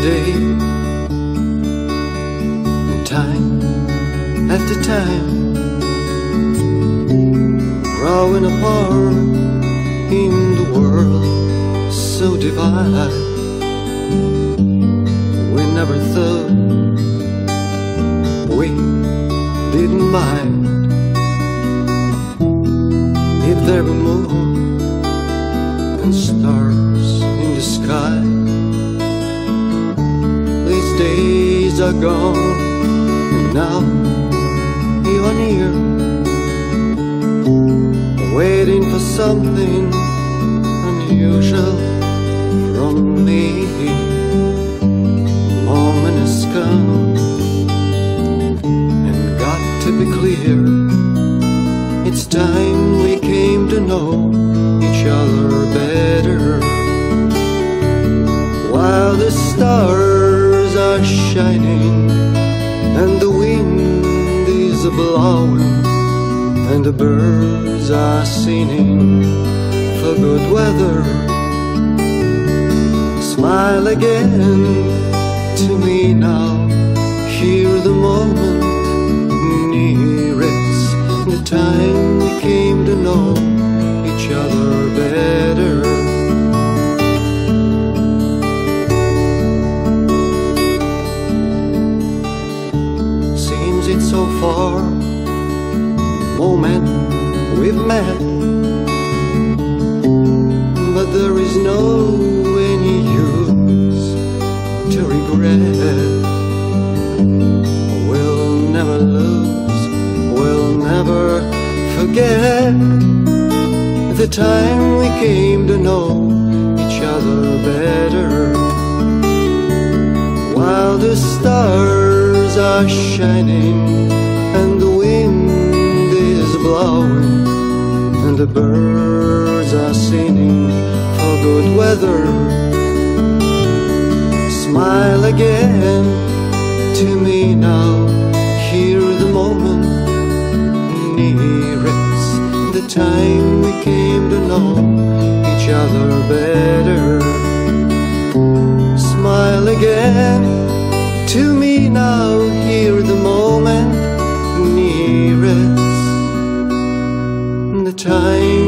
day, and time after time, growing apart in the world so divided. We never thought we didn't mind if there were moon and stars in the sky. These days are gone, and now you are near, waiting for something unusual from me. The moment has come, and got to be clear, it's time we came to know each other better. While the stars are shining and the wind is blowing and the birds are singing for good weather, smile again to me now. Hear the moment near, it's the time we came to know each other better. Seems it's so far, moment we've met, but there is no any use to regret. We'll never lose, we'll never forget the time we came to know each other better. While the stars are shining and the wind is blowing and the birds are singing for good weather, smile again to me now. Hear the moment near, it's the time we came to know each other better. Smile again to me now. Hear the moment near, it's the time